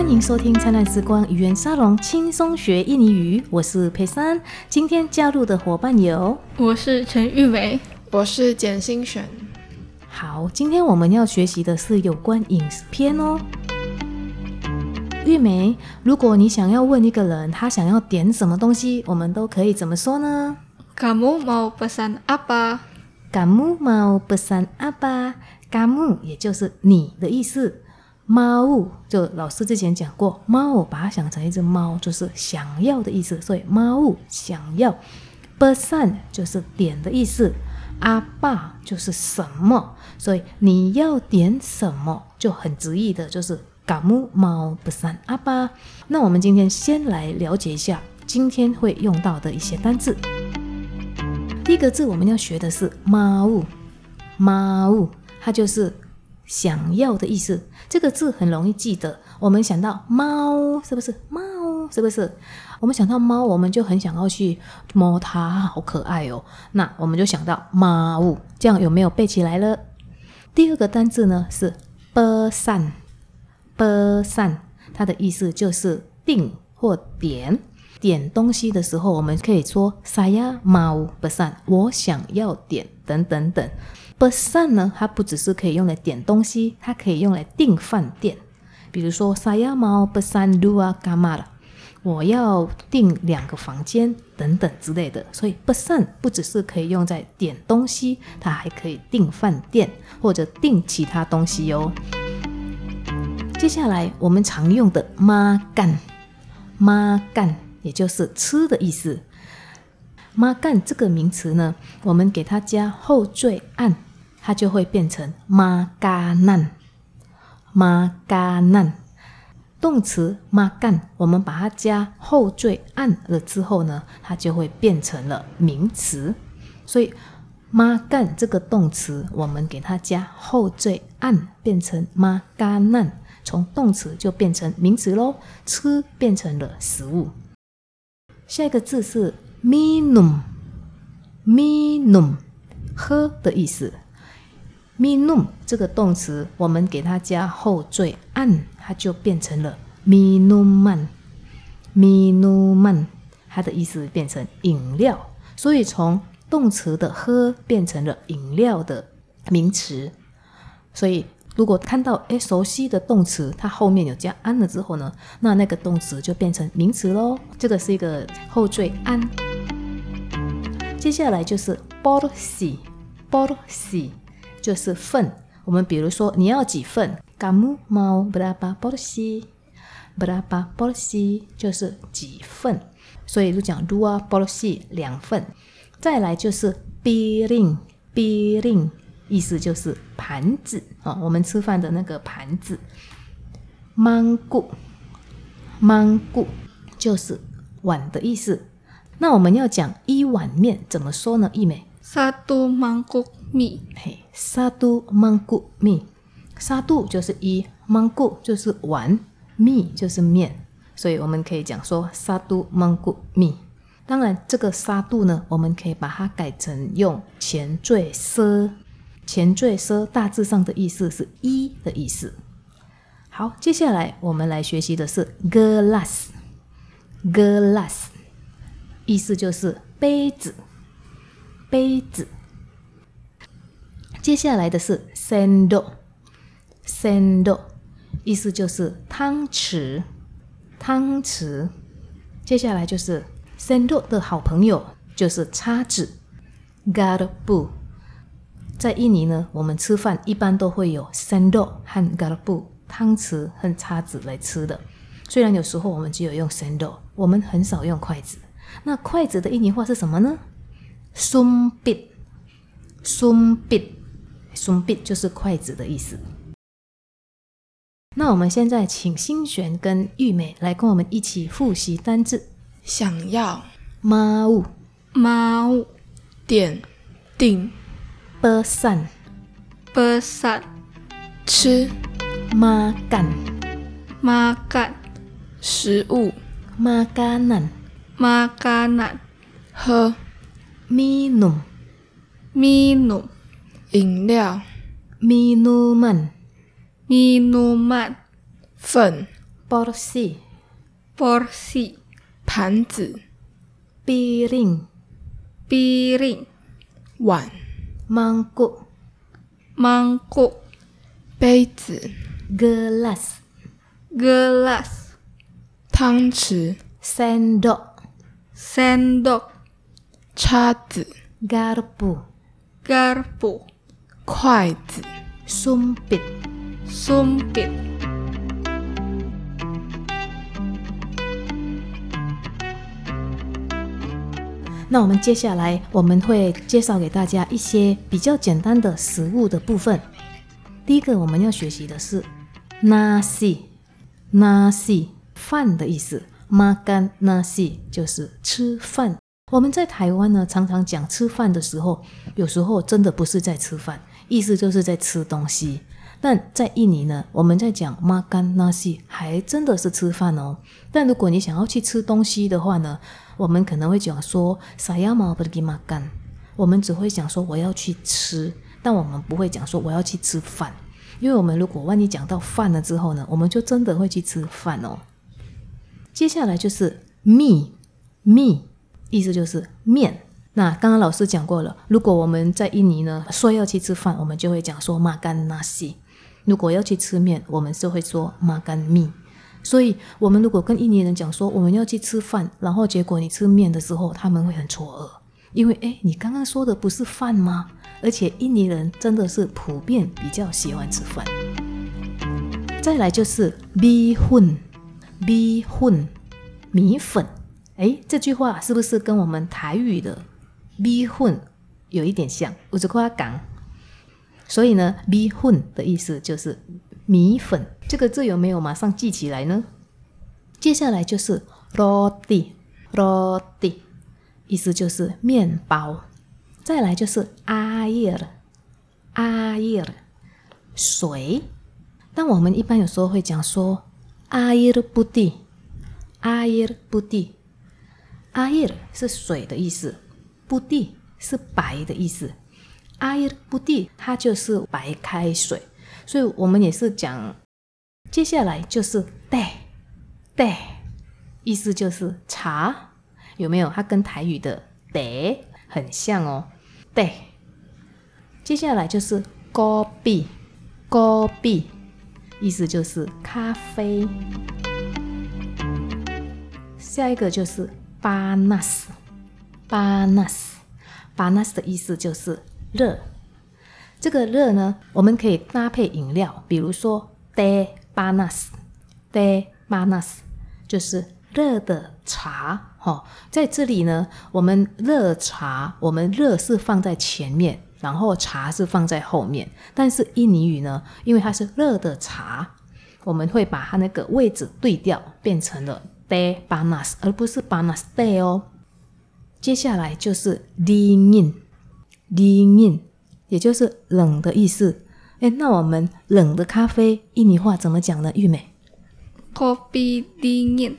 欢迎收听灿烂时光语言沙龙，轻松学印尼语。我是佩珊，今天加入的伙伴有， 我是陈玉梅， 我是简心璇。 好，今天我们要学习的是有关饮食篇哦。玉梅，如果你想要问一个人他想要点什么东西，我们都可以怎么说呢？ Kamu mau pesan apa? Kamu mau pesan apa? Kamu 也就是你的意思，猫就老师之前讲过，猫把它想成一只猫，就是想要的意思，所以猫想要。pesan 就是点的意思， apa 就是什么，所以你要点什么就很直译的就是 kamu mau pesan apa。 那我们今天先来了解一下今天会用到的一些单字。第一个字我们要学的是mau， mau 它就是想要的意思，这个字很容易记得。我们想到猫，是不是？猫是不是？我们想到猫，我们就很想要去摸它，好可爱哦。那我们就想到猫，这样有没有背起来了？第二个单字呢是 pesan， pesan 它的意思就是订或点。点东西的时候，我们可以说 saya mau pesan， 我想要点等等等。pesan 呢，它不只是可以用来点东西，它可以用来订饭店。比如说 saya mau pesan 2 kamar， 我要订2个房间等等之类的。所以 pesan 不只是可以用在点东西，它还可以订饭店或者订其他东西哦。接下来我们常用的 makan， makan 也就是吃的意思。makan 这个名词呢，我们给它加后缀 an， 它就会变成 makanan， makanan。 动词 makan 我们把它加后缀 an 了之后呢，它就会变成了名词。所以 makan 这个动词我们给它加后缀 an 变成 makanan， 从动词就变成名词咯，吃变成了食物。下一个字是 minum， minum 喝的意思。 minum 这个动词我们给它加后缀 an， 它就变成了 minuman， minuman 它的意思变成饮料，所以从动词的喝变成了饮料的名词。所以如果看到熟悉的动词它后面有加 an 了之后呢，那个动词就变成名词咯，这个是一个后缀 an。 接下来就是 porsi， porsi 就是份。我们比如说你要几份， kamu mau berapa porsi， berapa porsi 就是几份，所以就讲 2 porsi 2份。再来就是 piring， piring 意思就是盘子，我们吃饭的那个盘子。mangkuk， mangkuk 就是碗的意思。那我们要讲一碗面怎么说呢？一美 Satu mangkuk mie， satu mangkuk mie， satu 就是一， mangkuk 就是碗， mie 就是面，所以我们可以讲说 satu mangkuk mie。 当然这个 satu 呢，我们可以把它改成用前缀 se， 前缀 se 大致上的意思是一的意思。好，接下来我们来学习的是 gelas， gelas 意思就是杯子，杯子。接下来的是 sendok， sendok 意思就是汤匙，汤匙。接下来就是 sendok 的好朋友就是叉子 garpu。 在印尼呢，我们吃饭一般都会有 sendok 和 garpu 汤匙和叉子来吃的。虽然有时候我们只有用 sendok， 我们很少用筷子。那筷子的印尼话是什么呢？ sumpit， sumpit， sumpit 就是筷子的意思。那我们现在请心璇跟玉美来跟我们一起复习单字。 想要 mau， mau 点订 pesan， pesan， 吃 makan， makan， 食物 makanan， makanan， 喝 minum， minum， 饮料 minuman， minuman， 份 porsi porsi, 盘子、 piring piring, 碗、 mangkuk mangkuk, 杯子、 gelas gelas, 汤匙、 sendok sendok, 叉子、 garpu garpu, 筷子、 sumpit sumpit. 那我们接下来我们会介绍给大家一些比较简单的食物的部分。第一个我们要学习的是 nasi 饭的意思， makan nasi 就是吃饭。我们在台湾呢常常讲吃饭的时候，有时候真的不是在吃饭，意思就是在吃东西。但在印尼呢，我们在讲 makan nasi 还真的是吃饭哦。但如果你想要去吃东西的话呢，我们可能会讲说 saya mau pergi makan， 我们只会讲说我要去吃，但我们不会讲说我要去吃饭，因为我们如果万一讲到饭了之后呢，我们就真的会去吃饭哦。接下来就是 mie， 意思就是面。那刚刚老师讲过了，如果我们在印尼呢说要去吃饭，我们就会讲说 makan nasi， 如果要去吃面，我们就会说 makan mie。所以我们如果跟印尼人讲说我们要去吃饭，然后结果你吃面的时候，他们会很错愕，因为你刚刚说的不是饭吗？而且印尼人真的是普遍比较喜欢吃饭。再来就是 bihun， 米粉。这句话是不是跟我们台语的 bihun 有一点像？有一块港。所以呢 bihun 的意思就是米粉，这个字有没有马上记起来呢？接下来就是 roti， 意思就是面包。再来就是 air， 水。但我们一般有时候会讲说 air putih， air 是水的意思， putih 是白的意思， air putih 它就是白开水。所以我们也是讲，接下来就是 teh， 意思就是茶，有没有？它跟台语的 teh 很像哦。teh。接下来就是 kopi， 意思就是咖啡。下一个就是 panas 的意思就是热。这个热呢，我们可以搭配饮料，比如说 teh panas 就是热的茶。在这里呢，我们热茶，我们热是放在前面，然后茶是放在后面。但是印尼语呢，因为它是热的茶，我们会把它那个位置对调，变成了 teh panas， 而不是 panas teh 哦。接下来就是 dingin， 也就是冷的意思。那我们冷的咖啡印尼话怎么讲呢？玉美 kopi dingin，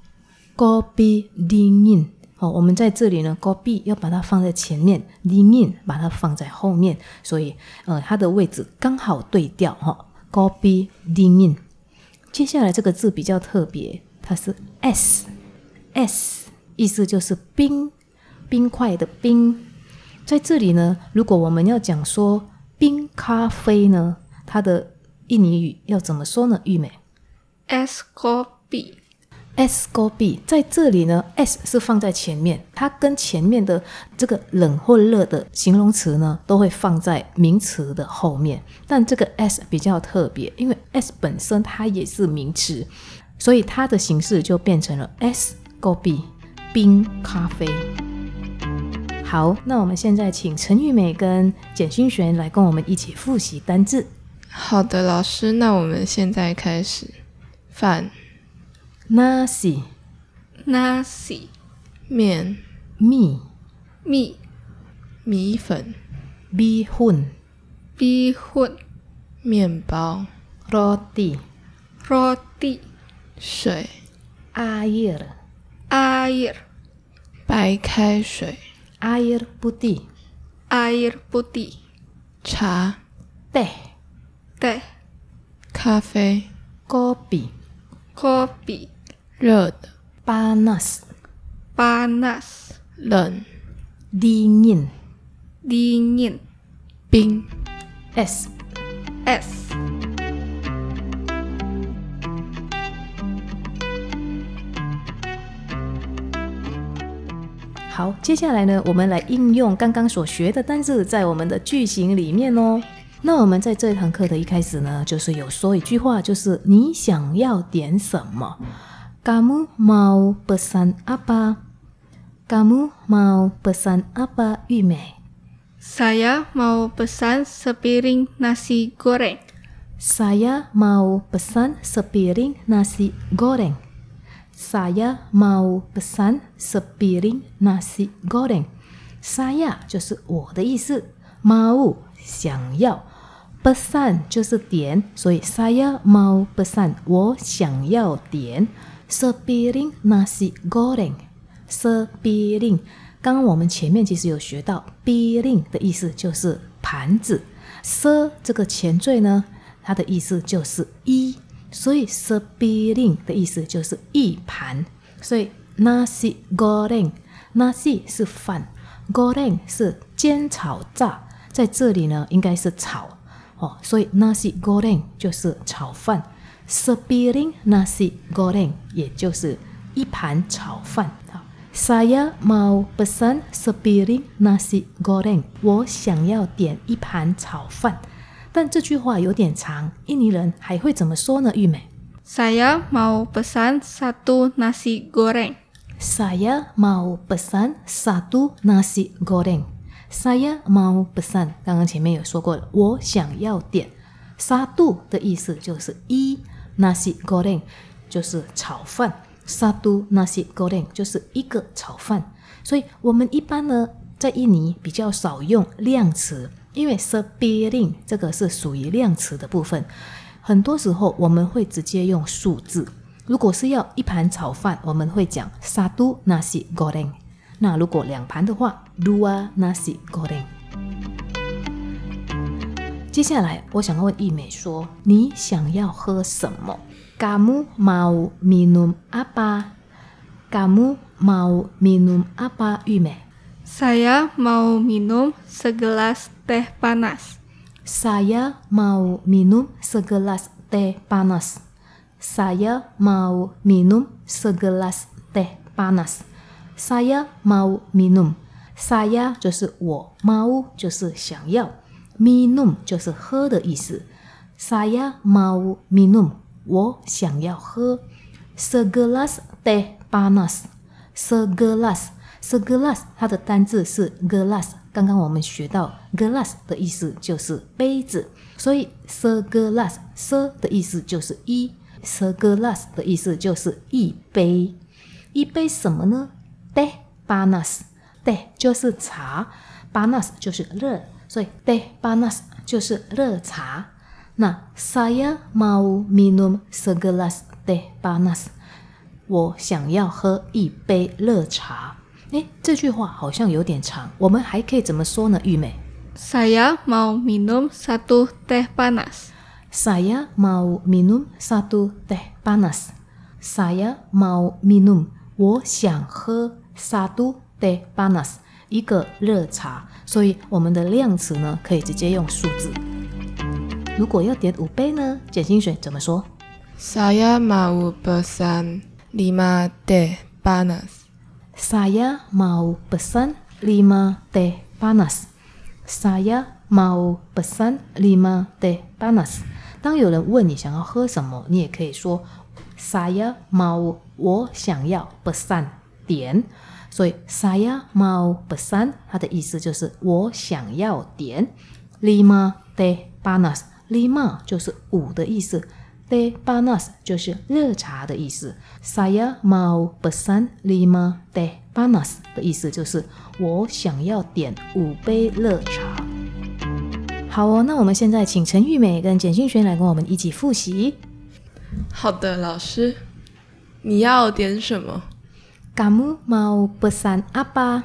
我们在这里呢 kopi 要把它放在前面， dingin 把它放在后面，所以它的位置刚好对调kopi dingin。 接下来这个字比较特别，它是 s， 意思就是冰块的冰。在这里呢，如果我们要讲说冰咖啡呢，它的印尼语要怎么说呢？玉美 es kopi， 在这里呢 S 是放在前面，它跟前面的这个冷或热的形容词呢都会放在名词的后面，但这个 S 比较特别，因为 S 本身它也是名词，所以它的形式就变成了 es kopi 冰咖啡。好，那我们现在请陈玉美跟简勋璇来跟我们一起复习单字。 好的，老师，那我们现在开始。饭 nasi， 面 mie， 米粉 bihun， 面包 roti， 水 air， 白开水 air putih， 茶 teh， teh， 咖啡 kopi， kopi 热的、 panas panas 冷、 dingin dingin 冰。 es es 好，接下来呢，我们来应用刚刚所学的单字在我们的句型里面哦。那我们在这堂课的一开始呢，就是有说一句话，就是你想要点什么 ？Kamu mau pesan apa? Kamu mau pesan apa, 玉美 Saya mau pesan sepiring nasi goreng. Saya mau pesan sepiring nasi goreng. Saya mau pesan sepiring nasi goreng. Saya 就是我的意思 mau 想要 pesan 就是点，所以 saya mau pesan 我想要点 sepiring nasi goreng. sepiring 刚刚我们前面其实有学到 piring 的意思就是盘子 se 这个前缀呢，它的意思就是一，所以 sepiring 的意思就是一盘，所以 nasi goreng nasi 是饭 goreng 是煎炒炸，在这里呢应该是炒所以 nasi goreng 就是炒饭 sepiring nasi goreng 也就是一盘炒饭。Saya mau pesan sepiring nasi goreng. 我想要点一盘炒饭。但这句话有点长，印尼人还会怎么说呢？玉美 Saya mau pesan satu nasi goreng. Saya mau pesan satu nasi goreng. Saya mau pesan 刚刚前面有说过了，我想要点 satu 的意思就是一 nasi goreng 就是炒饭Satu nasi goreng 就是一个炒饭，所以我们一般呢在印尼比较少用量词，因为 sepiring 这个是属于量词的部分，很多时候我们会直接用数字。如果是要一盘炒饭，我们会讲 satu nasi goreng。那如果两盘的话 dua nasi goreng。接下来我想要问艺美说，你想要喝什么？Kamu mau minum apa? Kamu mau minum apa, 玉美 Saya mau minum segelas teh panas. Saya mau minum segelas teh panas. Saya mau minum segelas teh panas. Saya mau minum. Saya 就是我 mau 就是想要 minum 就是喝的意思 Saya mau minum我想要喝 segelas teh panas segelas 它的单字是 gelas 刚刚我们学到 gelas 的意思就是杯子，所以 segelas se 的意思就是一 segelas 的意思就是一杯，一杯什么呢？ teh panas teh 就是茶 panas 就是热，所以 teh panas 就是热茶。那 saya mau minum segelas teh panas 我想要喝一杯热茶。这句话好像有点长，我们还可以怎么说呢？玉美 Saya mau minum satu teh panas. Saya mau minum satu teh panas. Saya mau minum 我想喝 satu teh panas 一个热茶，所以我们的量词呢可以直接用数字。如果要点5杯呢，简心水怎么说？ Saya mau pesan 5 teh panas. Saya mau pesan 5 teh panas. Saya mau pesan 5 teh panas. 当有人问你想要喝什么，你也可以说 Saya mau 我想要 pesan 点，所以 Saya mau pesan 它的意思就是我想要点5 teh panas。5就是5的意思 teh panas 就是热茶的意思 Saya mau pesan 5 teh panas 的意思就是我想要点5杯热茶。好哦，那我们现在请陈玉美跟简心璇来跟我们一起复习。 好的，老师，你要点什么？ Kamu mau pesan apa?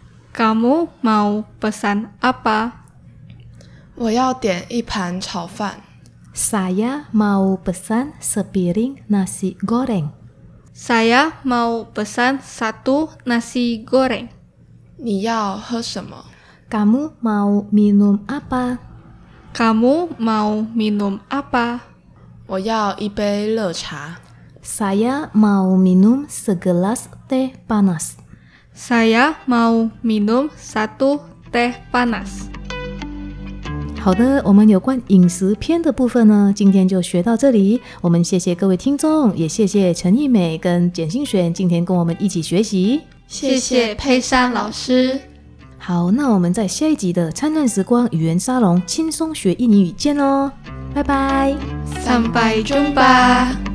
Kamu mau pesan apa? 我要点一盘炒饭。 Saya mau pesan sepiring nasi goreng. Saya mau pesan 1 nasi goreng. 你要喝什么？ Kamu mau minum apa? Kamu mau minum apa? 我要一杯热茶。 Saya mau minum segelas teh panas. Saya mau minum 1 teh panas. 好的，我们有关饮食篇的部分呢，今天就学到这里。我们谢谢各位听众，也谢谢陈艺美跟简心璇今天跟我们一起学习。 谢谢佩珊老师。 好，那我们在下一集的灿烂时光语言沙龙轻松学印尼语见喽，拜拜。 Sampai jumpa.